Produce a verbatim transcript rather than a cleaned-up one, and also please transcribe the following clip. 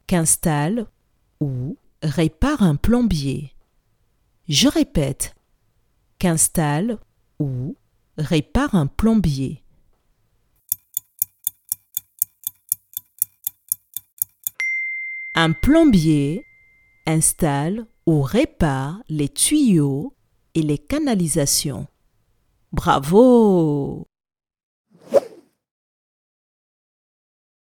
qu'installe ou répare un plombier. Je répète, qu'installe ou répare un plombier. Un plombier installe ou répare les tuyaux et les canalisations. Bravo!